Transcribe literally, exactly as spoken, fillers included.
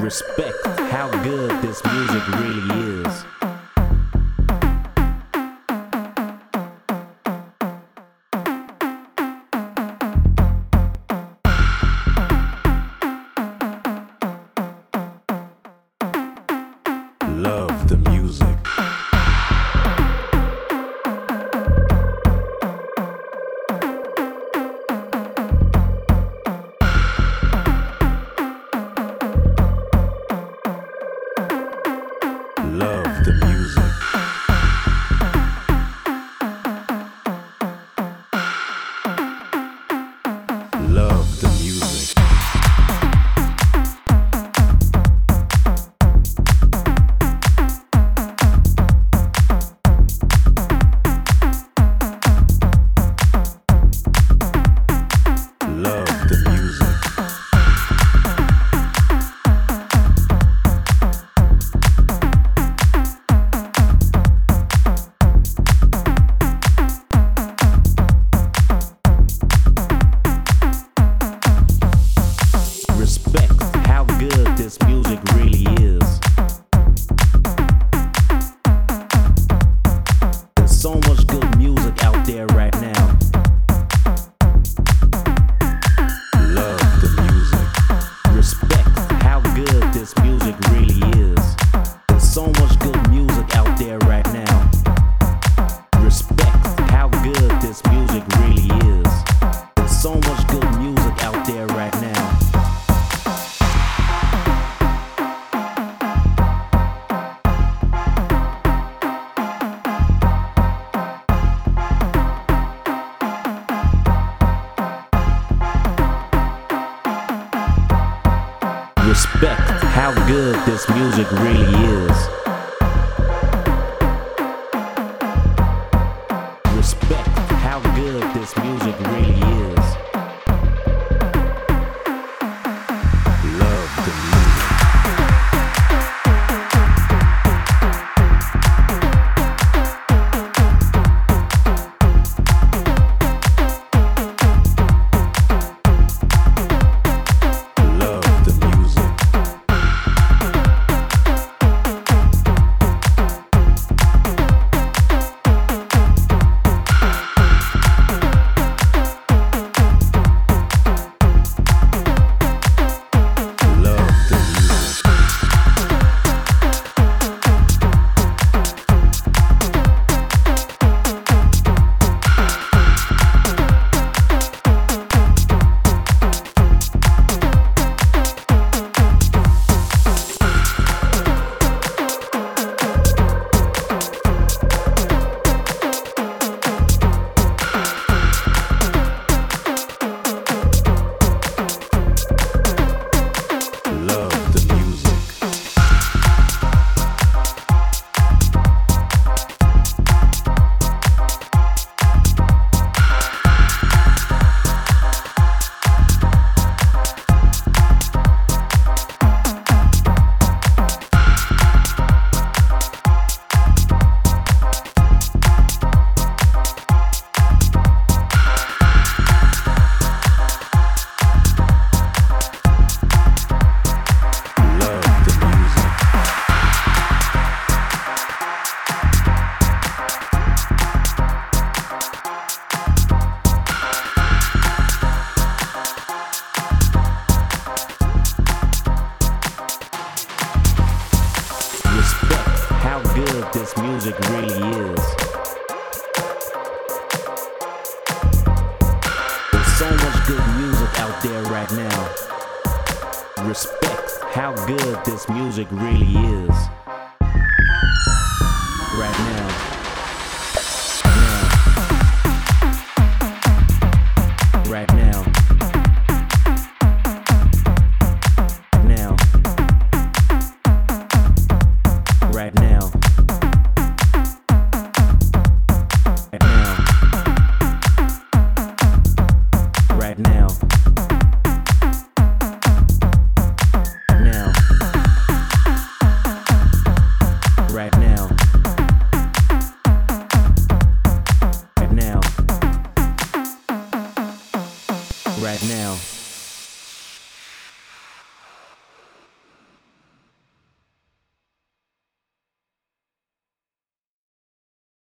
Respect how good this music really is. Love the music. Love the music. Love the music. Love the music. Respect how good this music really is. There's so much good music out there right now. Love the music. Respect how good this music really is. There's so much good music out there right now. Respect how good this music really is. There's so much good music out there right now. Respect how good this music really is. Respect how good this music really is. Love the music. Love the music. Respect how good this music really is. There's so much good music out there right now. Respect how good this music really is. Right now. Now. Right now. Now. Right now. Right now. Right now. Now. Right now. Right now. Right now.